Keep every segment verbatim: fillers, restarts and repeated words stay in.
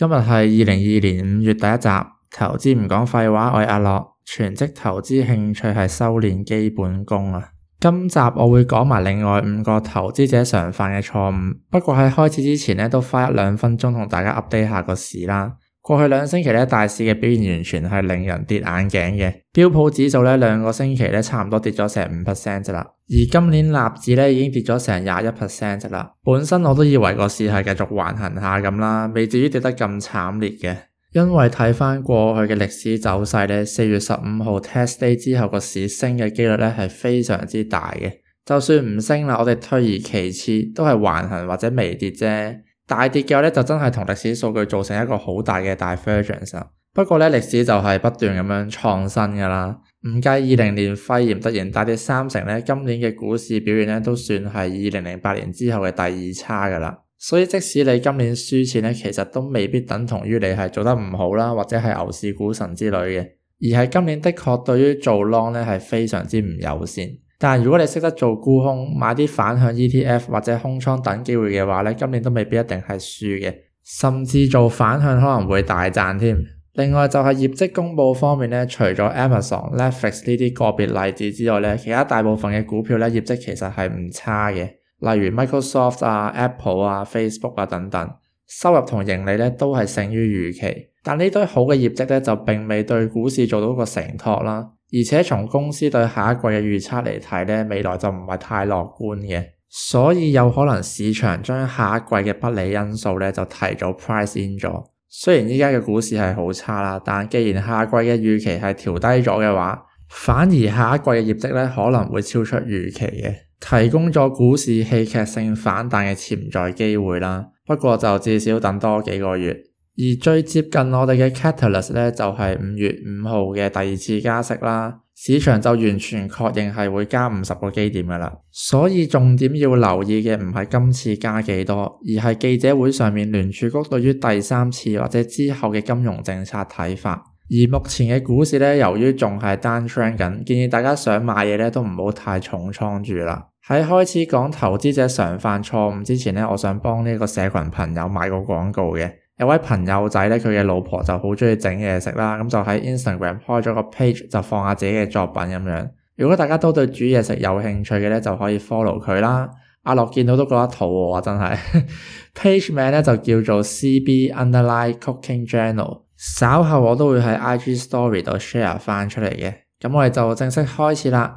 今日係二零二二年五月第一集，投資唔講廢話，我係阿樂，全職投資興趣係修煉基本功啊。今集我會講埋另外五個投資者常犯嘅錯誤，不過喺開始之前咧，都花一兩分鐘同大家 update 下個市啦。過去兩星期咧，大市嘅表現完全係令人跌眼鏡嘅。標普指數咧，兩個星期咧，差唔多跌咗成五 percent 咋啦。而今年納指咧，已經跌咗成廿一 percent 咋啦。本身我都以為個市係繼續橫行下咁啦，未至於跌得咁慘烈嘅。因為睇翻過去嘅歷史走勢咧，四月十五號 test day 之後個市升嘅幾率咧係非常之大嘅。就算唔升啦，我哋退而其次都係橫行或者微跌啫。大跌嘅話咧，就真係同歷史數據造成一個好大嘅 divergence。不過咧，歷史就係不斷咁樣創新噶啦。唔計二零年肺炎突然大跌三成咧，今年嘅股市表現咧都算係二零零八年之後嘅第二差噶啦。所以即使你今年輸錢咧，其實都未必等同於你係做得唔好啦，或者係牛市股神之類嘅，而係今年的確對於做 long 咧係非常之唔友善。但如果你識得做沽空，買啲反向 E T F 或者空倉等機會嘅話咧，今年都未必一定係輸嘅，甚至做反向可能會大賺添。另外就係業績公佈方面咧，除咗 Amazon、Netflix 呢啲個別例子之外咧，其他大部分嘅股票咧業績其實係唔差嘅，例如 Microsoft 啊、Apple 啊、Facebook 啊等等，收入同盈利咧都係勝於預期。但呢堆好嘅業績咧就並未對股市做到個承托啦。而且從公司對下一季嘅預測嚟睇咧，未來就唔係太樂觀嘅，所以有可能市場將下一季嘅不利因素咧就提早 price in 咗。雖然依家嘅股市係好差啦，但既然下季嘅預期係調低咗嘅話，反而下一季嘅業績咧可能會超出預期嘅，提供咗股市戲劇性反彈嘅潛在機會啦。不過就至少等多幾個月。而最接近我哋嘅 catalyst 咧，就係五月五號嘅第二次加息啦，市場就完全確認係會加五十個基點噶啦。所以重點要留意嘅唔係今次加幾多，而係記者會上面聯儲局對於第三次或者之後嘅金融政策睇法。而目前嘅股市咧，由於仲係 downtrend 緊，建議大家想買嘢咧都唔好太重倉住啦。喺開始講投資者常犯錯誤之前咧，我想幫呢個社群朋友買個廣告嘅。有位朋友仔咧，佢嘅老婆就好鍾意整嘢食啦，咁就喺 Instagram 開咗個 page 就放下自己嘅作品咁樣。如果大家都對煮嘢食有興趣嘅咧，就可以 follow 佢啦。阿樂見到都覺得肚餓啊，真係。page 名咧就叫做 C B Underline Cooking Journal。稍後我都會喺 I G Story 度 share 翻出嚟嘅。咁我哋就正式開始啦。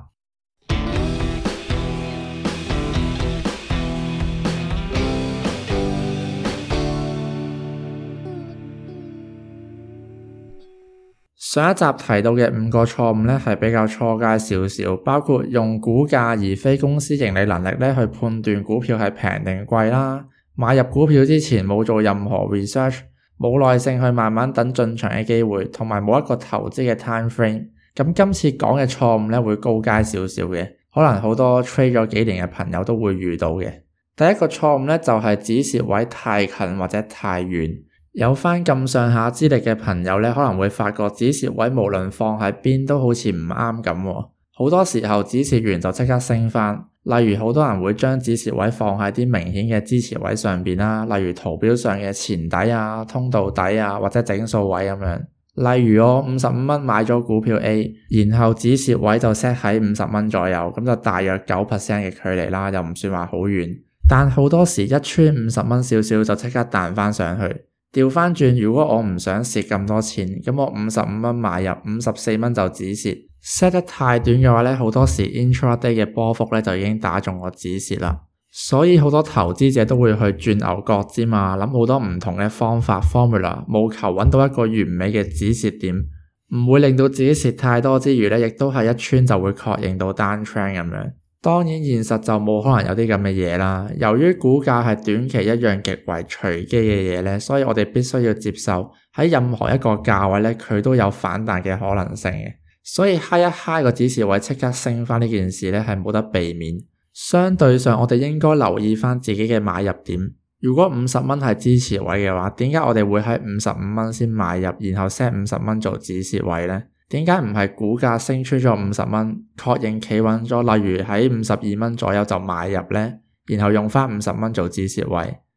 上一集提到嘅五個錯誤咧係比較初階少少，包括用股價而非公司盈利能力咧去判斷股票係平定貴啦，買入股票之前冇做任何 research， 冇耐性去慢慢等進場嘅機會，同埋冇一個投資嘅 time frame。咁今次講嘅錯誤咧會高階少少嘅，可能好多 trade 咗幾年嘅朋友都會遇到嘅。第一個錯誤咧就係止蝕位太近或者太遠。有翻咁上下資歷嘅朋友咧，可能會發覺止蝕位無論放喺邊都好似唔啱咁。好多時候止蝕完就即刻升翻，例如好多人會將止蝕位放喺啲明顯嘅支持位上邊啦，例如圖表上嘅前底啊、通道底啊或者整數位咁樣。例如我五十五蚊買咗股票 A， 然後止蝕位就 set 喺五十蚊左右，咁就大約 九 percent 嘅距離啦，又唔算話好遠。但好多時一穿五十蚊少少就即刻彈翻上去。調翻轉，如果我唔想蝕咁多錢，咁我五十五蚊買入，五十四蚊就止蝕。set 得太短嘅話咧，好多時 intraday 嘅波幅咧就已經打中我止蝕啦。所以好多投資者都會去轉牛角尖嘛，諗好多唔同嘅方法 formula， 務求揾到一個完美嘅止蝕點，唔會令到自己蝕太多之餘咧，亦都係一穿就會確認到 downtrend 咁樣。當然現實就冇可能有啲咁嘅嘢啦，由於股價係短期一樣極為隨機嘅嘢咧，所以我哋必須要接受喺任何一個價位咧，佢都有反彈嘅可能性嘅。所以嗨一嗨個止蝕位即刻升翻呢件事咧係冇得避免。相對上我哋應該留意翻自己嘅買入點。如果五十蚊係支持位嘅話，點解我哋會喺五十五蚊先買入，然後 set 五十蚊做止蝕位咧？點解唔係股價升出咗五十蚊，確認企穩咗，例如喺五十二蚊左右就買入呢？然後用翻五十蚊做止蝕位？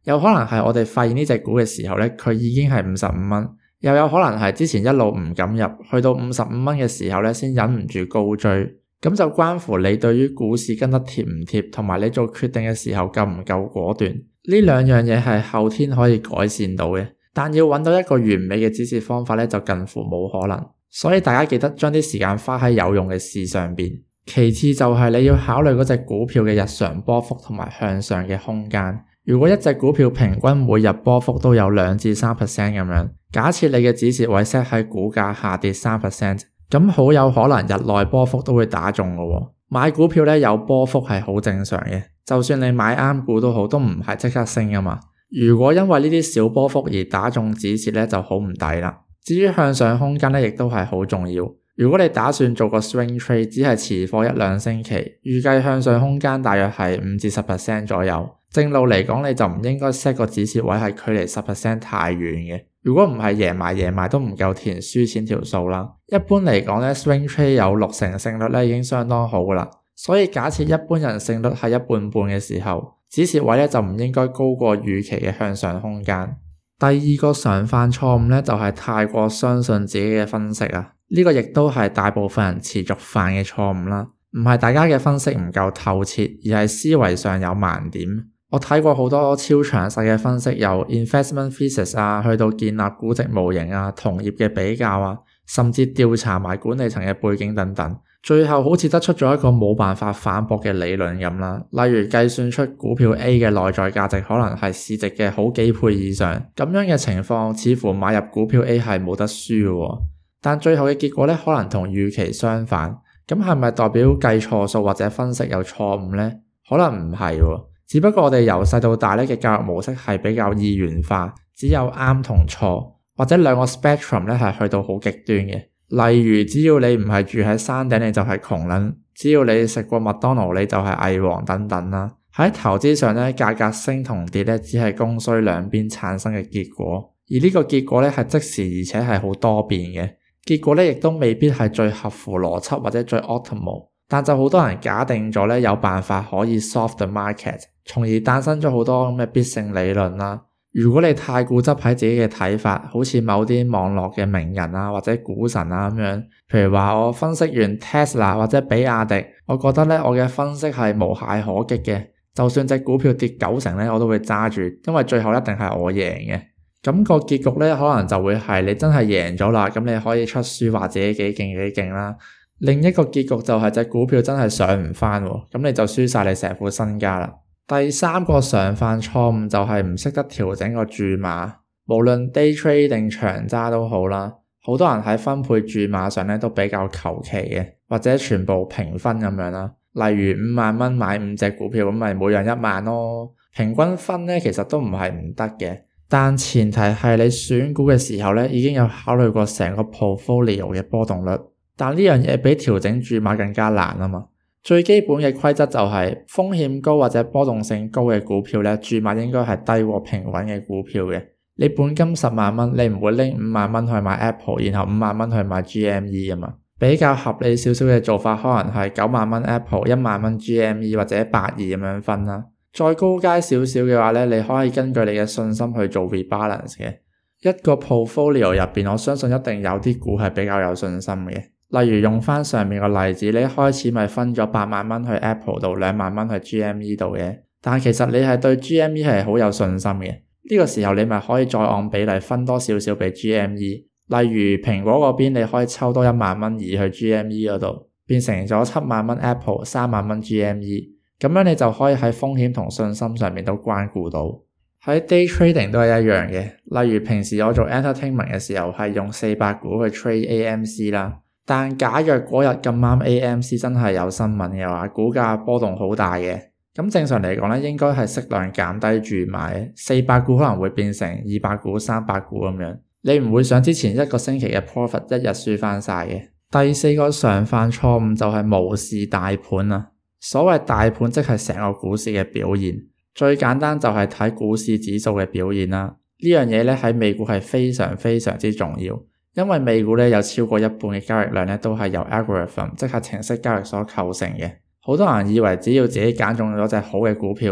有可能係我哋發現呢隻股嘅時候咧，佢已經係五十五蚊，又有可能係之前一路唔敢入，去到五十五蚊嘅時候咧，先忍唔住高追。咁就關乎你對於股市跟得貼唔貼，同埋你做決定嘅時候夠唔夠果斷。呢兩樣嘢係後天可以改善到嘅，但要揾到一個完美嘅止蝕方法咧，就近乎冇可能。所以大家記得將啲時間花喺有用嘅事上邊。其次就係你要考慮嗰隻股票嘅日常波幅同埋向上嘅空間。如果一隻股票平均每日波幅都有兩至三 percent 咁樣，假設你嘅止蝕位 set 喺股價下跌三 percent，咁好有可能日內波幅都會打中㗎喎。買股票咧有波幅係好正常嘅，就算你買啱股都好，都唔係即刻升㗎嘛。如果因為呢啲小波幅而打中止蝕咧，就好唔抵啦。至於向上空間咧，亦都係好重要。如果你打算做個 swing trade， 只係持貨一兩星期，預計向上空間大約係五至十 percent 左右。正路嚟講，你就唔應該 set 個止蝕位係距離十 percent 太遠嘅。如果唔係贏埋贏埋都唔夠填輸錢條數啦。一般嚟講咧 swing trade 有六成勝率咧已經相當好噶啦。所以假設一般人勝率係一半半嘅時候，止蝕位咧就唔應該高過預期嘅向上空間。第二個常犯錯誤咧就係太過相信自己嘅分析啊。呢個亦都係大部分人持續犯嘅錯誤啦。唔係大家嘅分析唔夠透徹，而係思維上有盲點。我睇過好多超詳細嘅分析，由 investment thesis 啊，去到建立估值模型啊，同業嘅比較啊，甚至調查埋管理層嘅背景等等，最後好似得出咗一個冇辦法反駁嘅理論咁啦。例如計算出股票 A 嘅內在價值可能係市值嘅好幾倍以上，咁樣嘅情況似乎買入股票 A 係冇得輸嘅喎。但最後嘅結果咧，可能同預期相反。咁係咪代表計錯數或者分析有錯誤呢？可能唔係喎。只不過我哋由細到大咧嘅教育模式係比較二元化，只有啱同錯，或者兩個 spectrum 咧係去到好極端嘅。例如，只要你唔係住喺山頂，你就係窮撚；只要你食過麥當勞，你就係偽王等等啦。喺投資上咧，價格升同跌咧，只係供需兩邊產生嘅結果，而呢個結果咧係即時而且係好多變嘅。結果咧亦都未必係最合乎邏輯或者最 optimal， 但就好多人假定咗咧有辦法可以 solve the market， 從而誕生咗好多咁嘅必勝理論啦。如果你太固執喺自己嘅睇法，好似某啲網絡嘅名人啊或者股神啊咁樣，譬如話我分析完 Tesla 或者比亞迪，我覺得咧我嘅分析係無懈可擊嘅，就算隻股票跌九成咧，我都會揸住，因為最後一定係我贏嘅。咁個結局咧，可能就會係你真係贏咗啦，咁你可以出書話自己幾勁幾勁啦。另一個結局就係隻股票真係上唔返喎，咁你就輸晒你成副身家啦。第三個常犯錯誤就係唔識得調整個注碼，無論 day trade 定長揸都好啦。好多人喺分配注碼上咧都比較求其嘅，或者全部平分咁樣啦。例如五萬蚊買五隻股票，咁咪每樣一萬咯。平均分咧其實都唔係唔得嘅。但前提係你選股嘅時候咧，已經有考慮過成個 portfolio 嘅波動率。但呢樣嘢比調整注碼更加難啊嘛。最基本嘅規則就係風險高或者波動性高嘅股票咧，注碼應該係低過平穩嘅股票嘅。你本金十萬蚊，你唔會拎五萬蚊去買 Apple， 然後五萬蚊去買 G M E 啊嘛。比較合理少少嘅做法，可能係九萬蚊 Apple， 一萬蚊 G M E 或者八二咁樣分啦。再高階少少嘅話咧，你可以根據你嘅信心去做 rebalance 嘅。一個 portfolio 入邊，我相信一定有啲股係比較有信心嘅。例如用翻上面個例子，你一開始咪分咗八萬蚊去 Apple 度，兩萬蚊去 G M E 度嘅。但係其實你係對 G M E 係好有信心嘅。呢個時候你咪可以再按比例分多少少俾 G M E。例如蘋果嗰邊，你可以抽多一萬蚊移去 G M E 嗰度，變成咗七萬蚊 Apple， 三萬蚊 G M E。咁樣你就可以喺風險同信心上面都關顧到。喺 day trading 都係一樣嘅。例如平時我做 entertainment 嘅時候係用四百股去 trade A M C 啦。但假若嗰日咁啱 A M C 真係有新聞嘅話，股價波動好大嘅，咁正常嚟講咧，應該係適量減低注碼，四百股可能會變成二百股、三百股咁樣。你唔會想之前一個星期嘅 profit 一日輸翻晒嘅。第四個常犯錯誤就係無視大盤啊。所謂大盤即係成個股市嘅表現，最簡單就係睇股市指數嘅表現啦。呢樣嘢咧喺美股係非常非常之重要，因為美股咧有超過一半嘅交易量咧都係由 algorithm 即係程式交易所構成嘅。好多人以為只要自己揀中咗隻好嘅股票，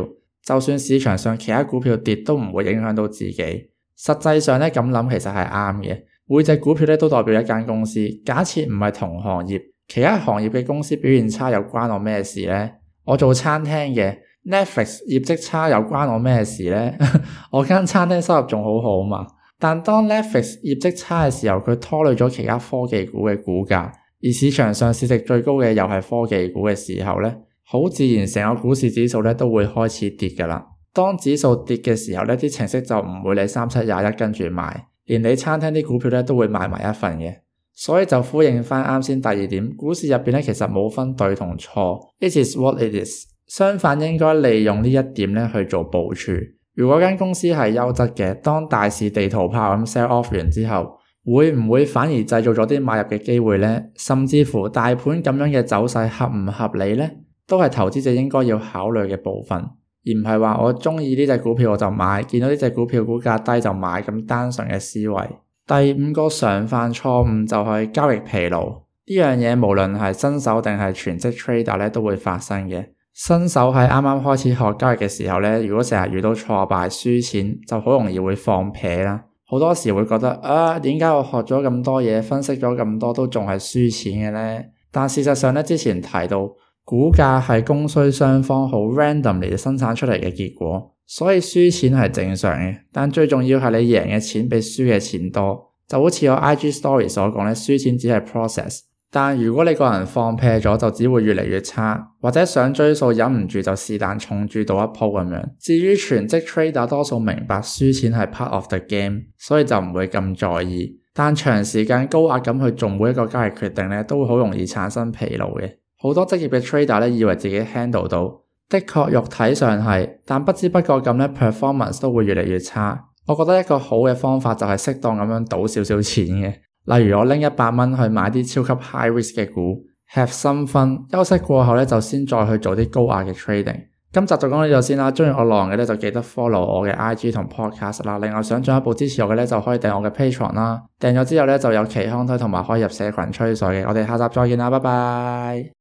就算市場上其他股票跌都唔會影響到自己。實際上咧，咁諗其實係啱嘅。每隻股票咧都代表一間公司。假設唔係同行業，其他行業嘅公司表現差又關我咩事呢？我做餐廳嘅 Netflix 業績差又關我咩事呢？我間餐廳收入仲好好嘛。但當 Netflix 業績差嘅時候，佢拖累咗其他科技股嘅股價，而市場上市值最高嘅又係科技股嘅時候咧，好自然成個股市指數咧都會開始跌㗎啦。當指數跌嘅時候咧，啲程式就唔會理三七廿一跟住買，連你餐廳啲股票咧都會買埋一份嘅。所以就呼應翻啱先第二點，股市入邊咧其實冇分對同錯 ，it is what it is。相反應該利用呢一點咧去做部署。如果間公司係優質嘅，當大市地圖炮咁 sell off 完之後，會唔會反而製造咗啲買入嘅機會呢？甚至乎大盤咁樣嘅走勢合唔合理呢？都係投資者應該要考慮嘅部分，而唔係話我中意呢隻股票我就買，見到呢隻股票股價低就買咁單純嘅思維。第五個常犯錯誤就係交易疲勞，呢樣嘢無論係新手定係全職 trader 咧都會發生嘅。新手喺啱啱開始學交易嘅時候咧，如果成日遇到挫敗輸錢，就好容易會放屁啦。好多時會覺得啊，點解我學咗咁多嘢，分析咗咁多都仲係輸錢嘅呢？但事實上咧，之前提到股價係供需雙方好 randomly 生產出嚟嘅結果，所以輸錢係正常嘅。但最重要係你贏嘅錢比輸嘅錢多，就好似我 I G story 所講咧，輸錢只係 process。但如果你個人放屁咗，就只會越嚟越差，或者想追數忍唔住就是但重注到一鋪咁樣。至於全職 trader 多數明白輸錢係 part of the game， 所以就唔會咁在意。但長時間高壓咁去做每一個交易決定咧，都會好容易產生疲勞嘅。好多職業嘅 trader 咧以為自己 handle 到，的確肉體上係，但不知不覺咁咧 performance 都會越嚟越差。我覺得一個好嘅方法就係適當咁樣賭少少錢嘅。例如我拎一百蚊去買啲超級 high risk 嘅股 ，have some fun， 休息過後咧就先再去做啲高壓嘅 trading。今集就講到呢度先啦，中意我內容嘅咧就記得 follow 我嘅 I G 同 podcast 啦。另外想進一步支持我嘅咧就可以訂我嘅 Patreon 啦，訂咗之後咧就有期刊推同埋可以入社群吹水嘅。我哋下集再見啦，拜拜。